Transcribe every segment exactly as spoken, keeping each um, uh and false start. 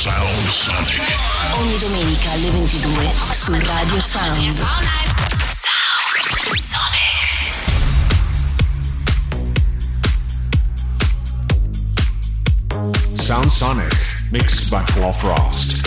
Sound Sonic. Ogni domenica alle ventidue su Radio Sound. Sound Sonic. Sound Sonic, mixed by Claw Frost.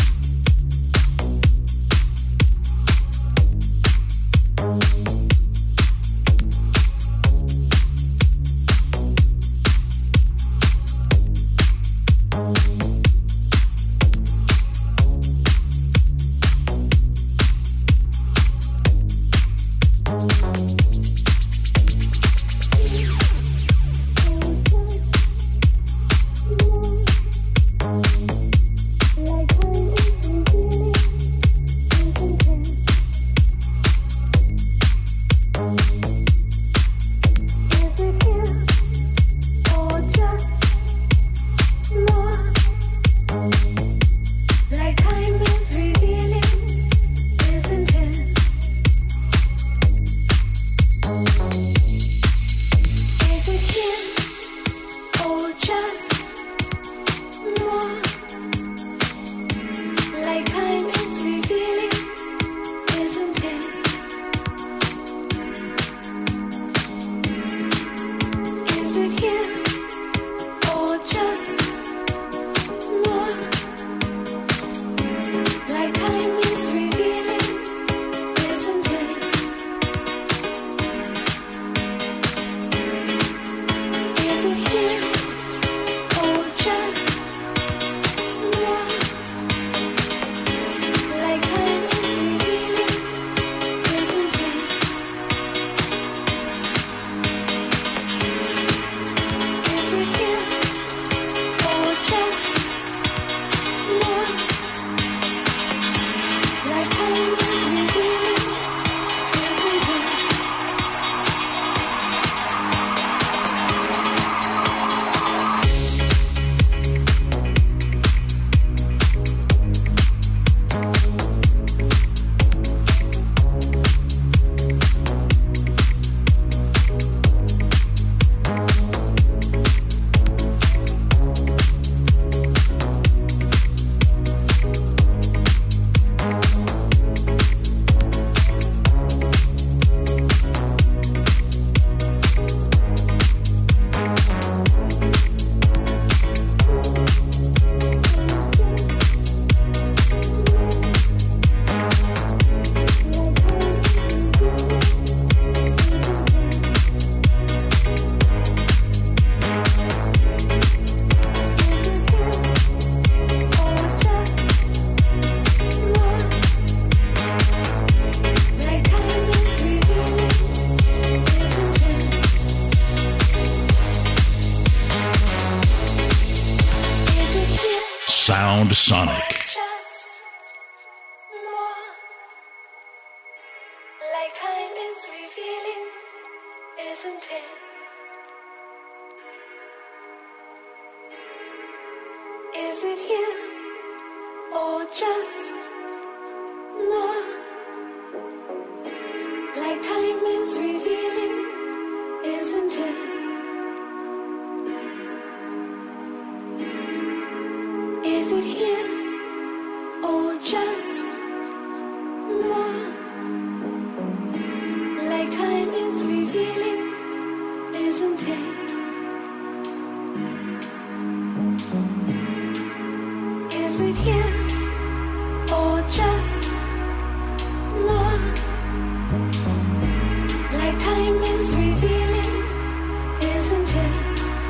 Sound Sonic. Like time is revealing, isn't it? Is it here or just more? Like time is revealing, isn't it? Is it here or just more? Like time is revealing, isn't it? Is it here or just more? Like time is revealing, isn't it?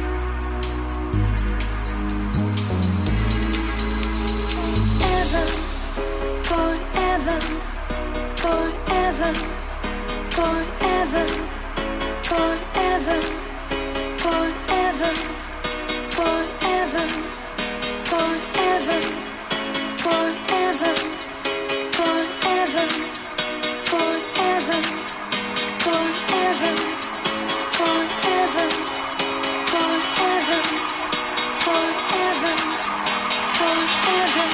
Forever, forever, forever, forever, forever, forever, forever, forever, forever, forever, forever, forever, forever, forever, forever.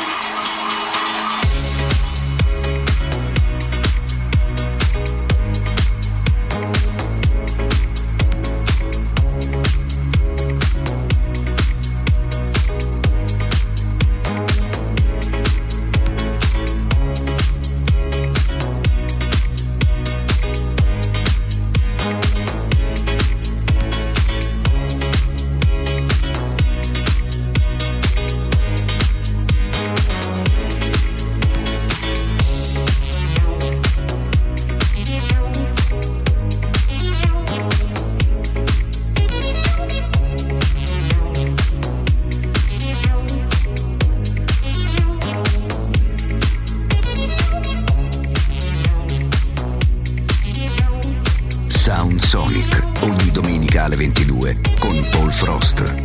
con Paul Frost.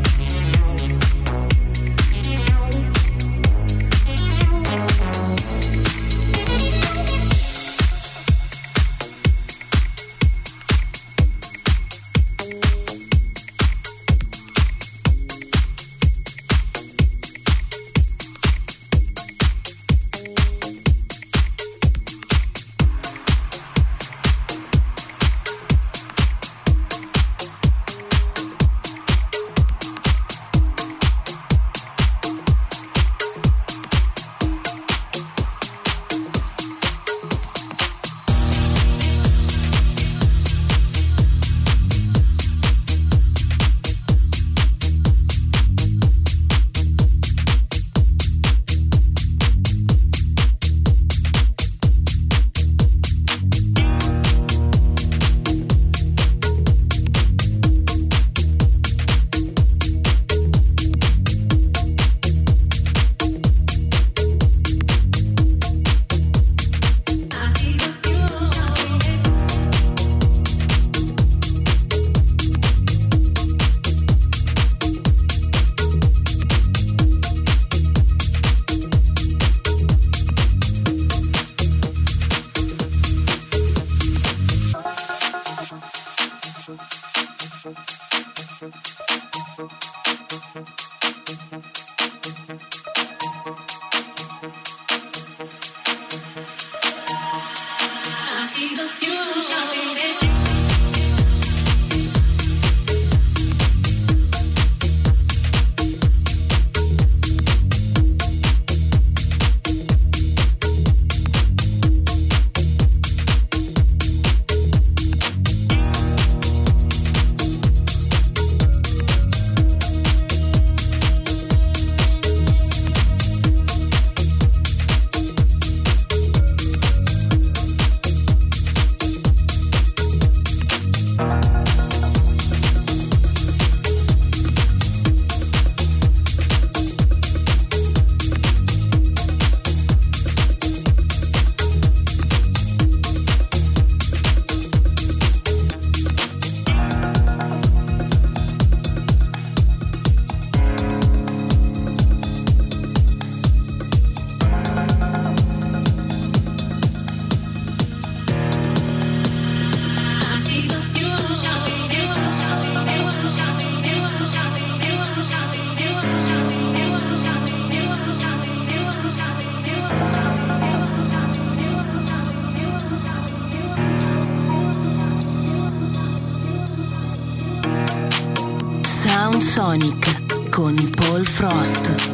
Sound Sonic con Paul Frost.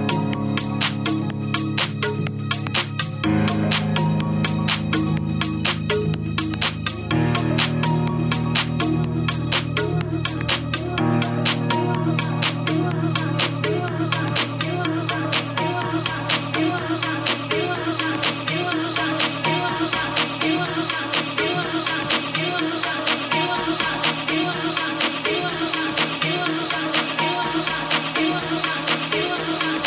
We'll be right back.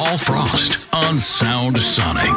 Paul Frost on Sound Sonic.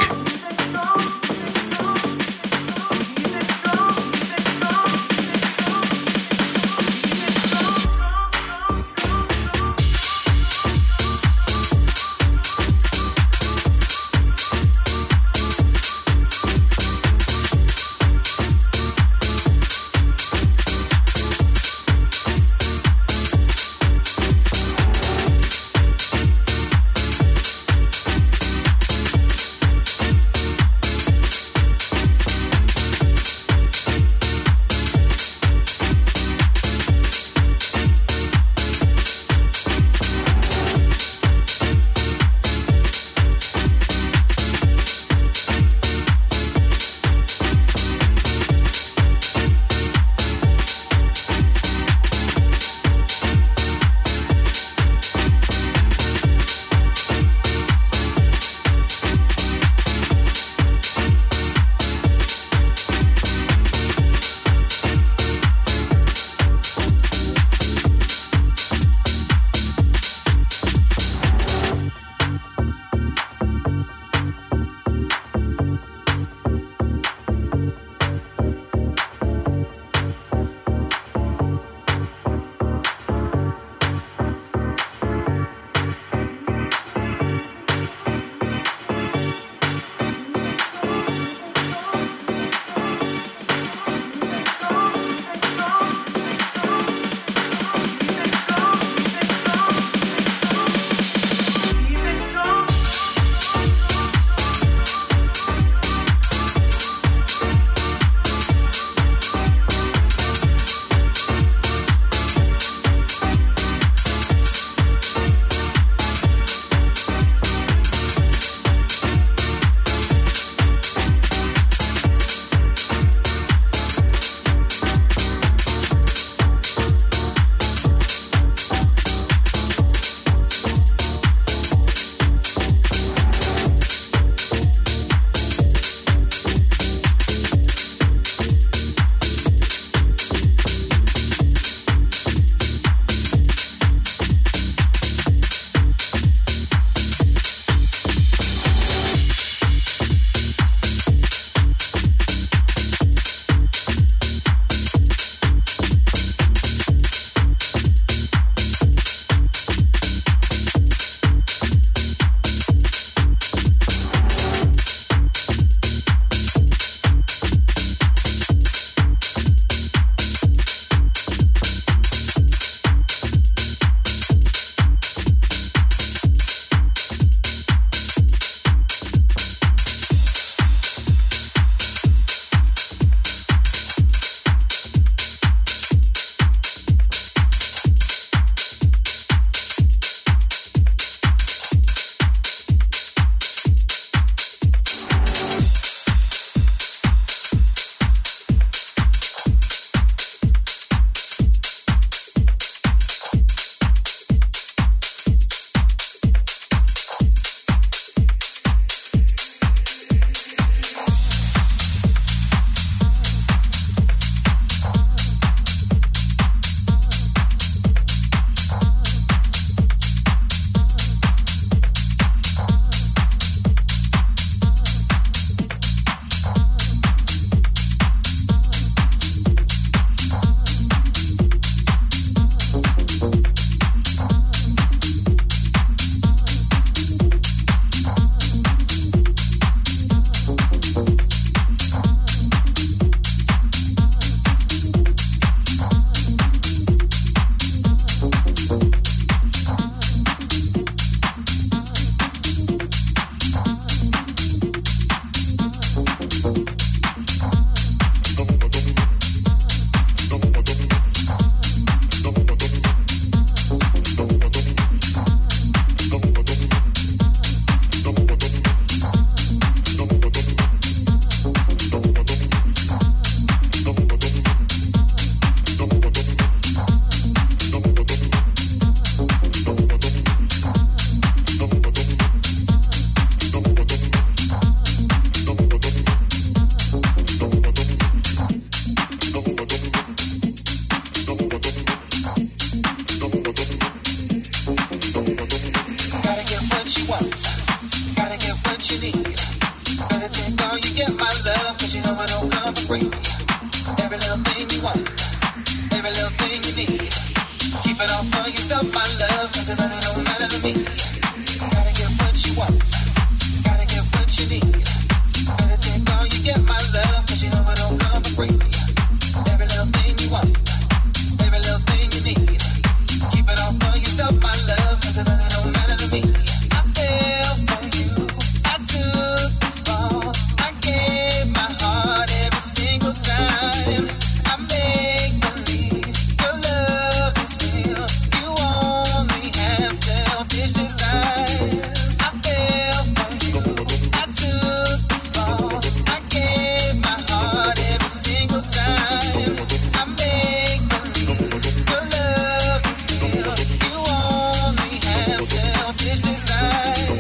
Every little thing you want, every little thing you need. Keep it all for yourself, my love, 'cause it really don't matter to me. Gotta get what you want, gotta get what you need. Better take all you get, my love, 'cause you know it don't come for free. Every little thing you want, every little thing you need. Keep it all for yourself, my love, 'cause it really don't matter to me. I fell for you, I took the fall, I gave my heart every single time. I make believe your love is real. You only have selfish desires. I fell for you, I took the fall, I gave my heart every single time. I make believe your love is real. You only have selfish desires.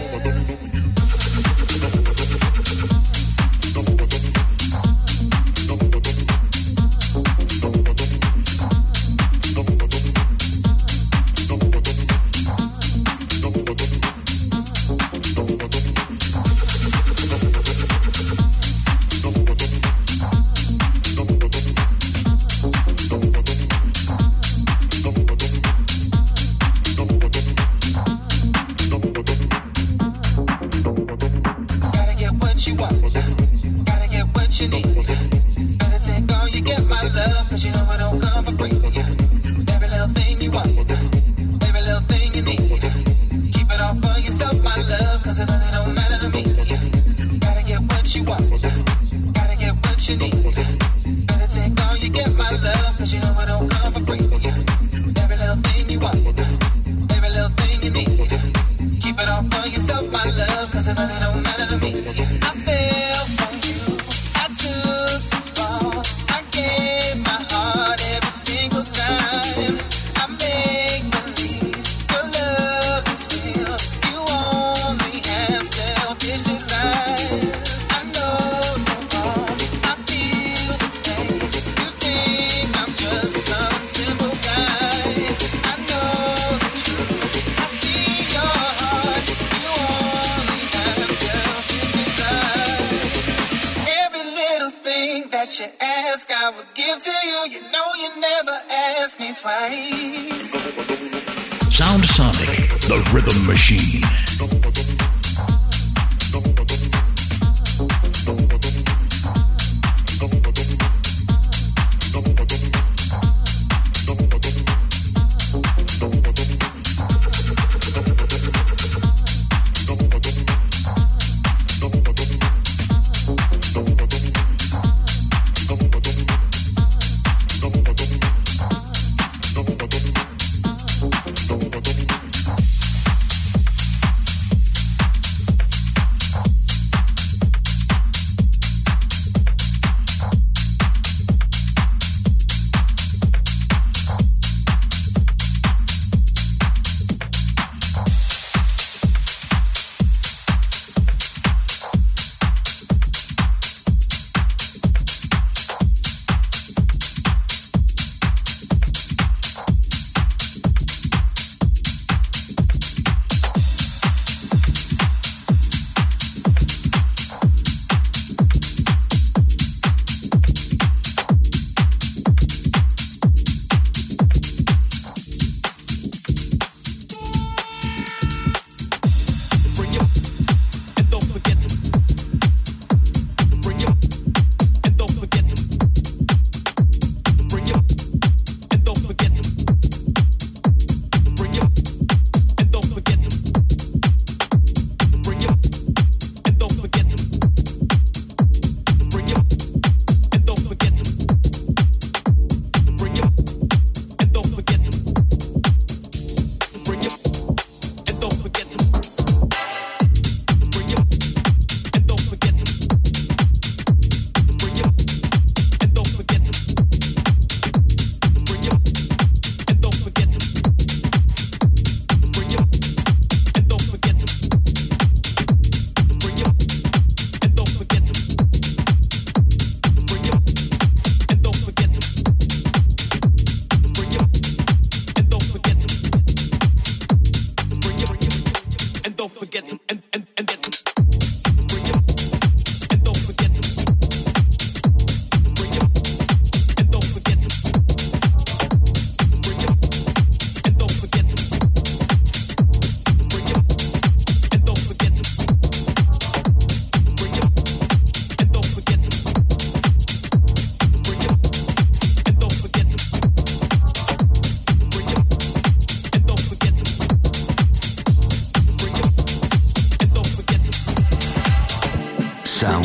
Gotta get what you want, gotta get what you need. Better take all you get, my love, 'cause you know it don't come for free. Every little thing you want, every little thing you need. Keep it all for yourself, my love, 'cause it really don't matter to me. Gotta get what you want, gotta get what you need. Better take all you get, my love, 'cause you know it don't come for free. Every little thing you want, every little thing you need. Keep it all for yourself, my love, 'cause it really don't matter to me. I fell for you, I took the fall, I gave my heart every single time. I make believe your love is real. You only have selfish desires. I know you're wrong, I feel the pain. You think I'm just some simple guy. I know the truth, I see your heart. You only have selfish desires. Every little thing that you ask, I will give to you. You know you never ask me twice. Sound Sonic, the rhythm machine.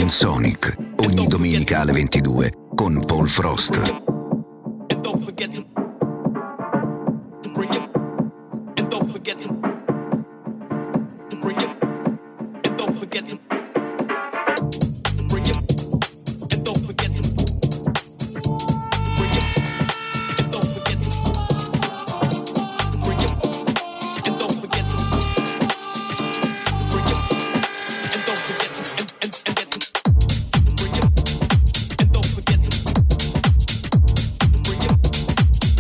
in Sonic, ogni domenica alle ventidue con Paul Frost. And don't forget to, to bring it. And don't forget to, to bring it. And don't forget to, to bring it. And don't forget to, to bring it. And don't forget to, to bring it. And don't forget to, to bring it. And don't forget to, and, and, and get to, to bring it. And don't forget to, to bring it.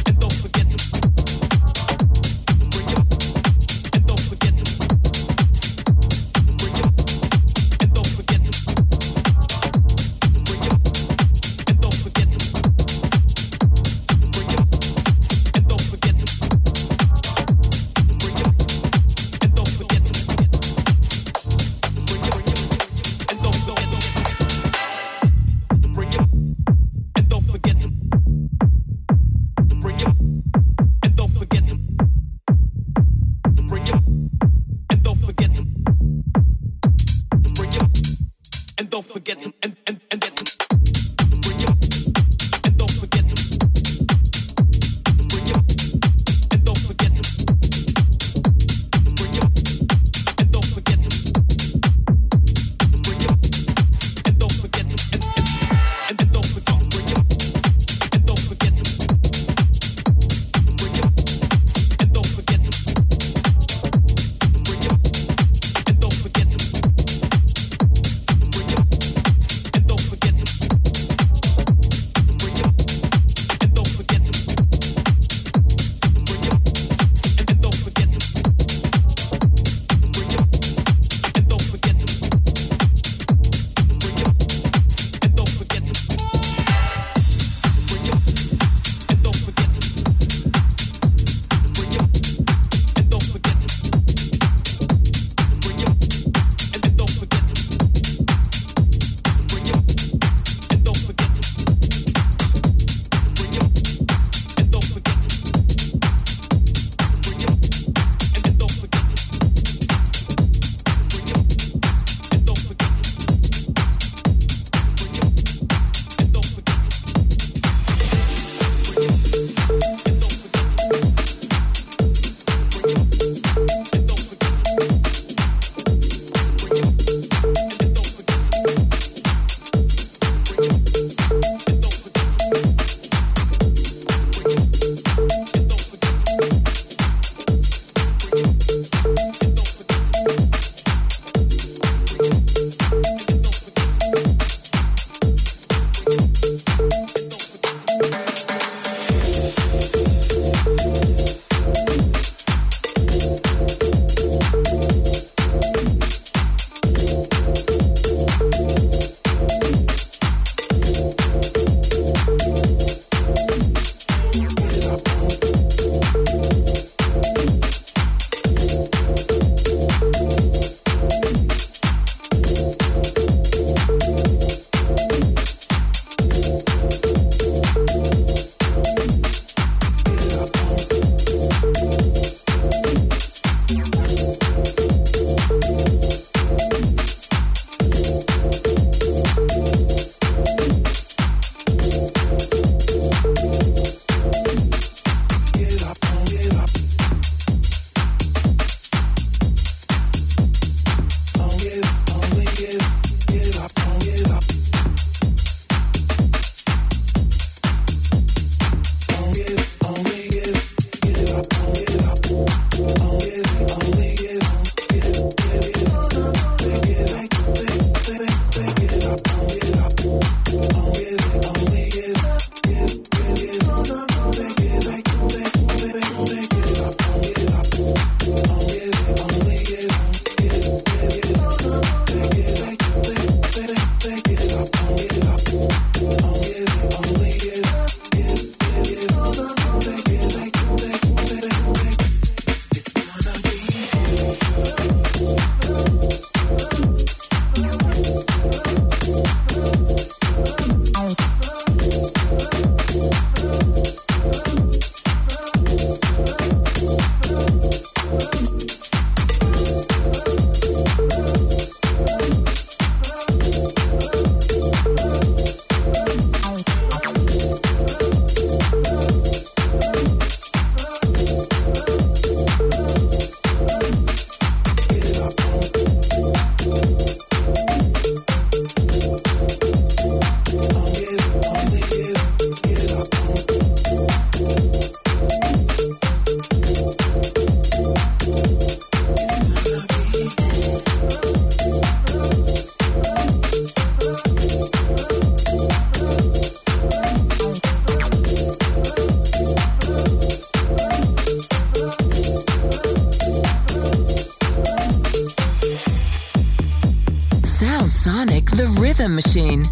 The Rhythm Machine.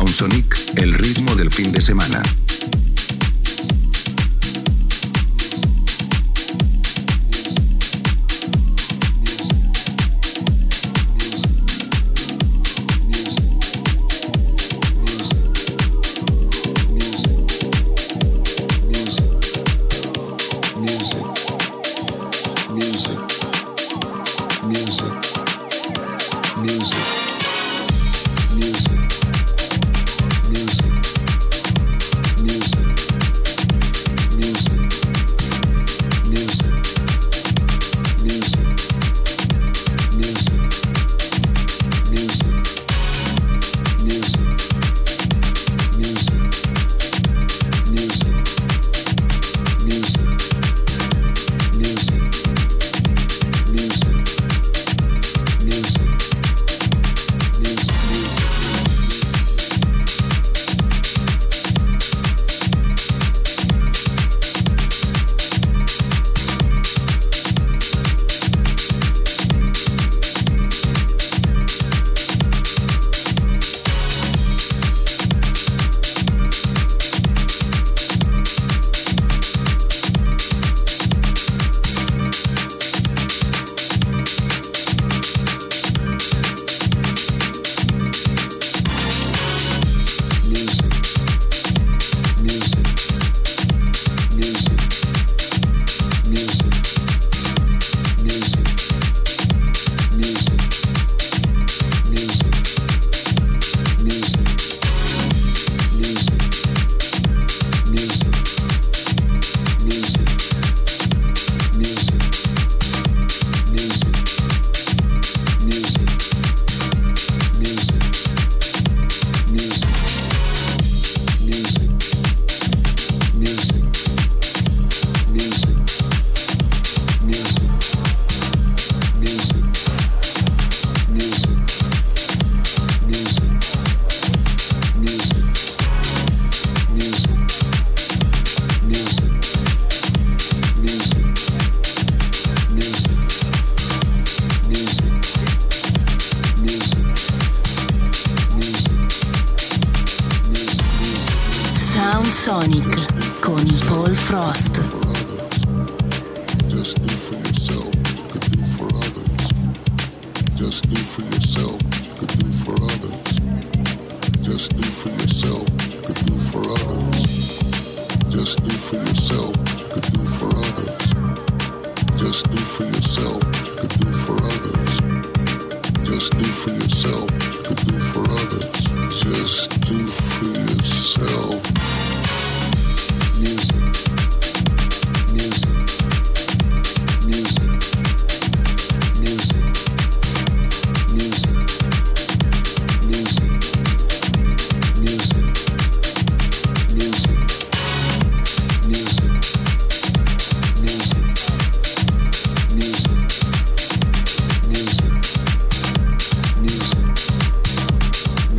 Soundsonic, el ritmo del fin de semana. Sonic con Paul Frost. Just do for yourself, could do for others. Just do for yourself, could do for others. Just do for yourself, could do for others. Just do for yourself, could do for others. Just do for yourself, could do for others. Just do for yourself, could do for others. Just do for yourself. Music, music, music, music, music, music, music, music, music, music, music, music, music, music.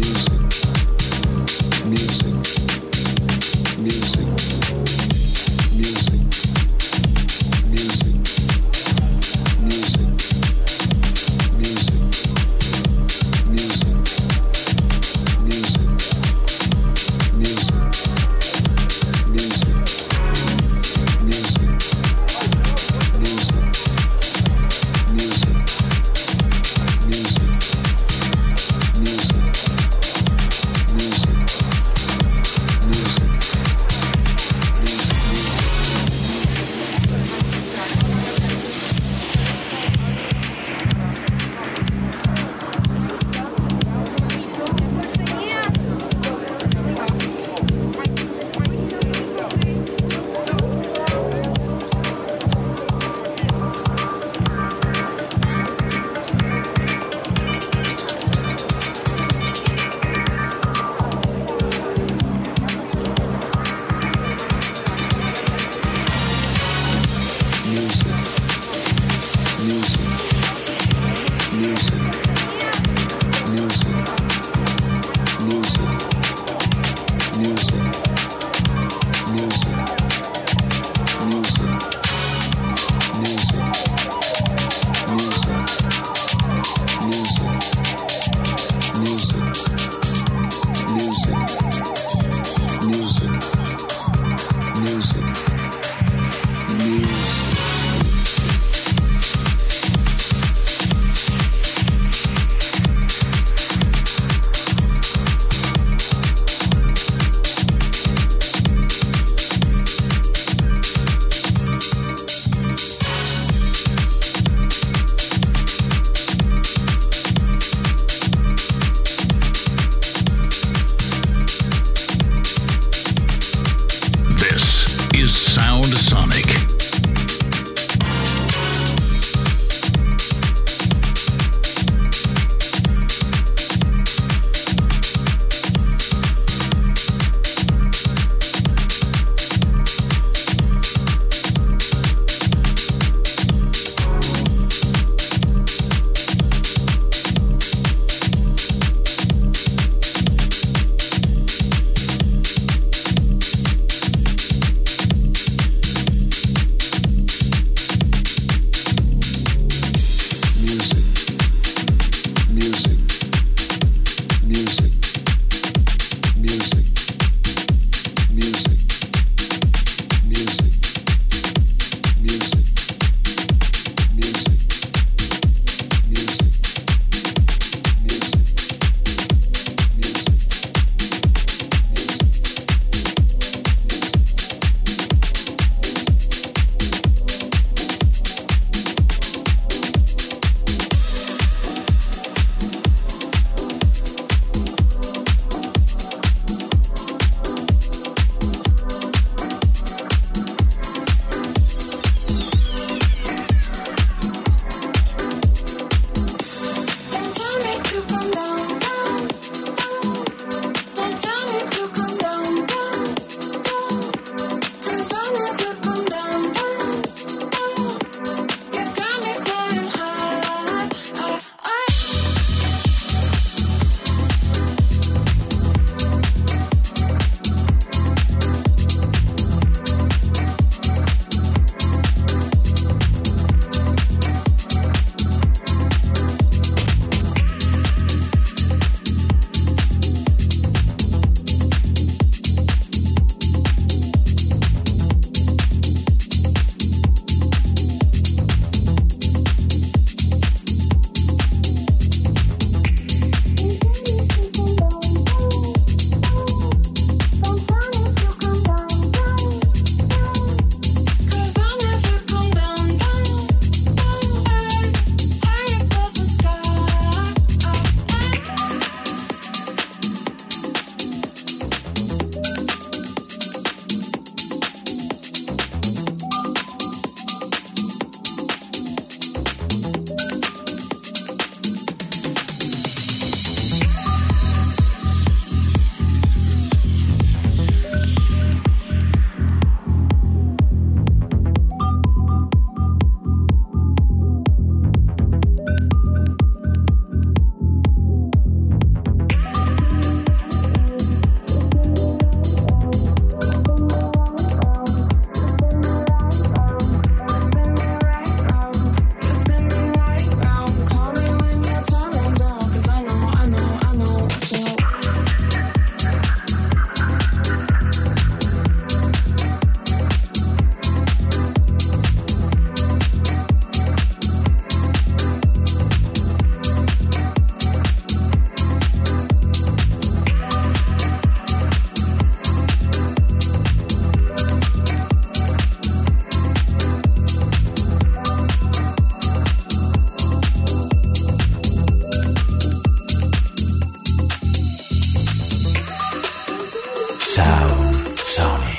Sound Sonic.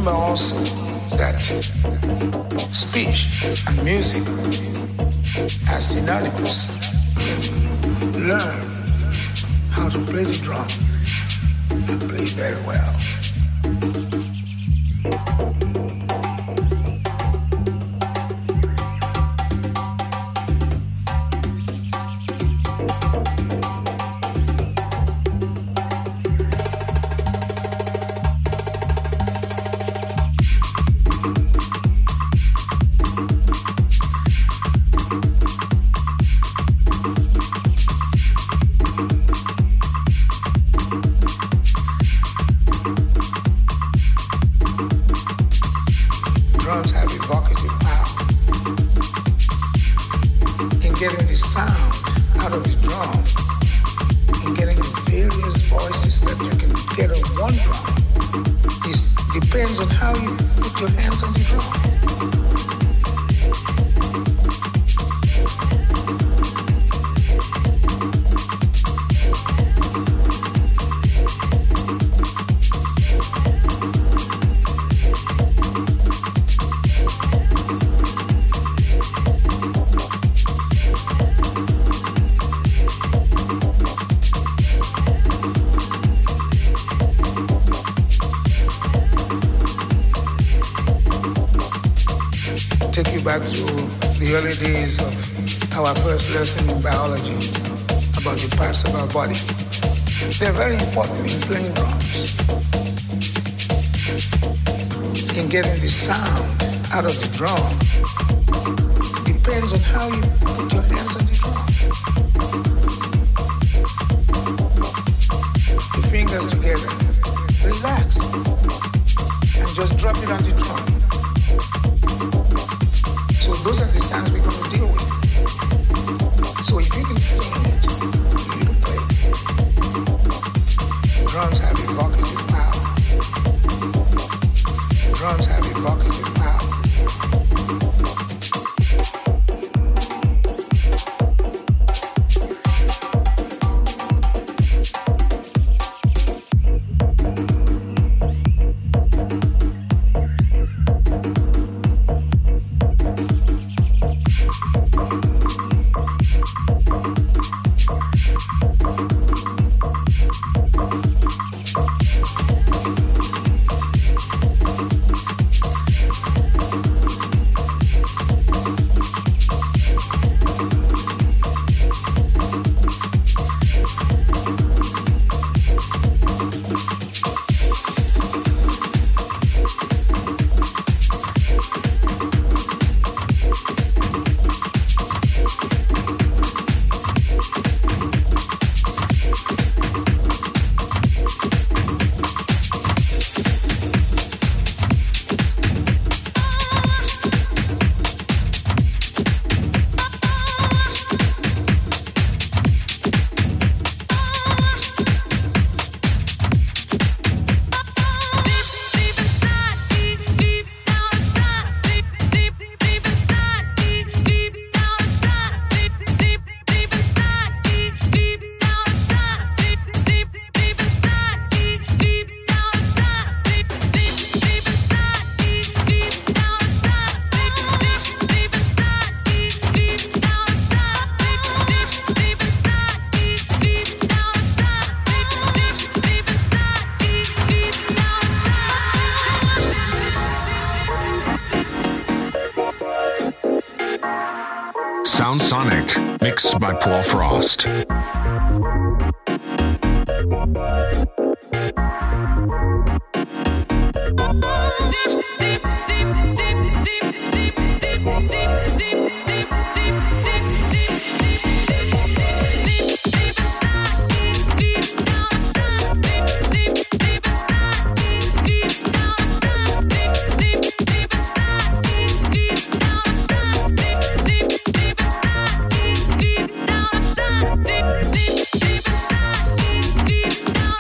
remember also that speech and music are synonymous. Learn how to play the drum and play very well. Lesson in biology about the parts of our body. They're very important in playing drums, in getting the sound out of the drum. Depends on how you put your hands on the drum. The fingers together, relax, and just drop it on the drum. So those are the sounds we're going to deal with. So if you can sing it, you can play it. Drums have evocative power. Drums have evocative power. Sound Sonic, mixed by Paul Frost. Deep, deep inside, deep, deep inside, deep, deep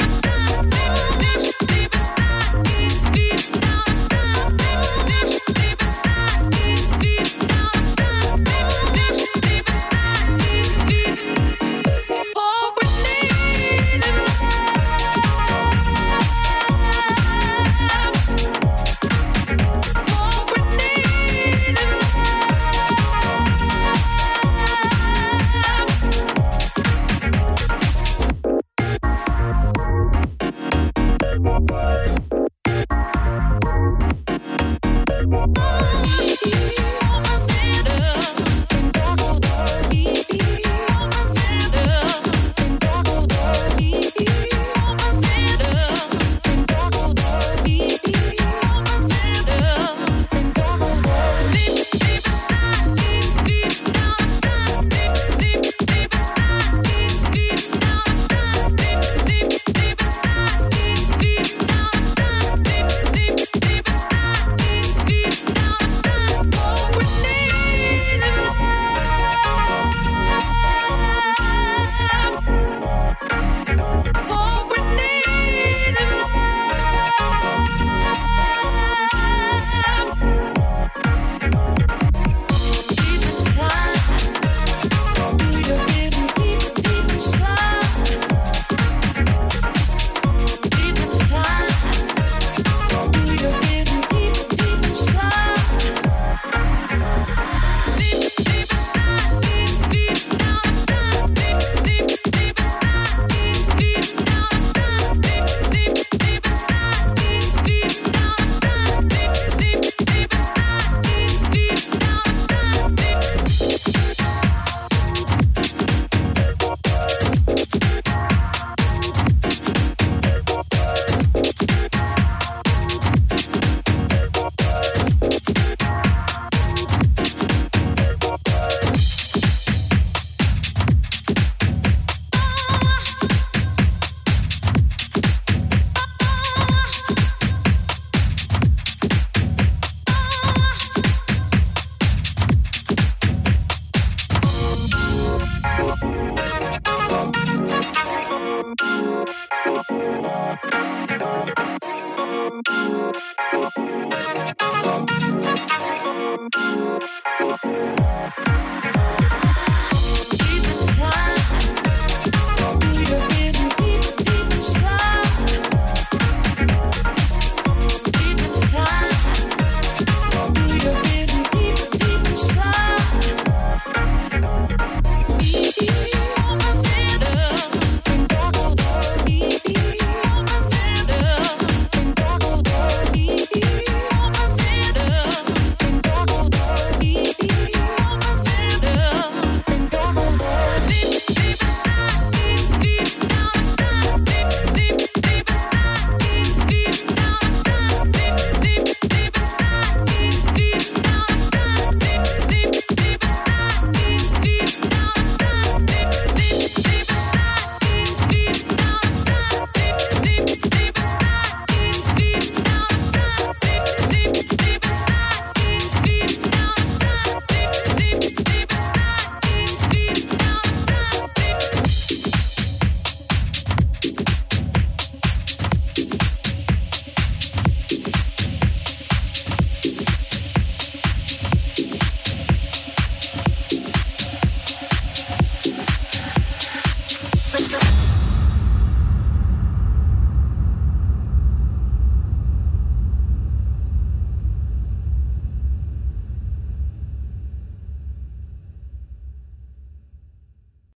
We'll be right back.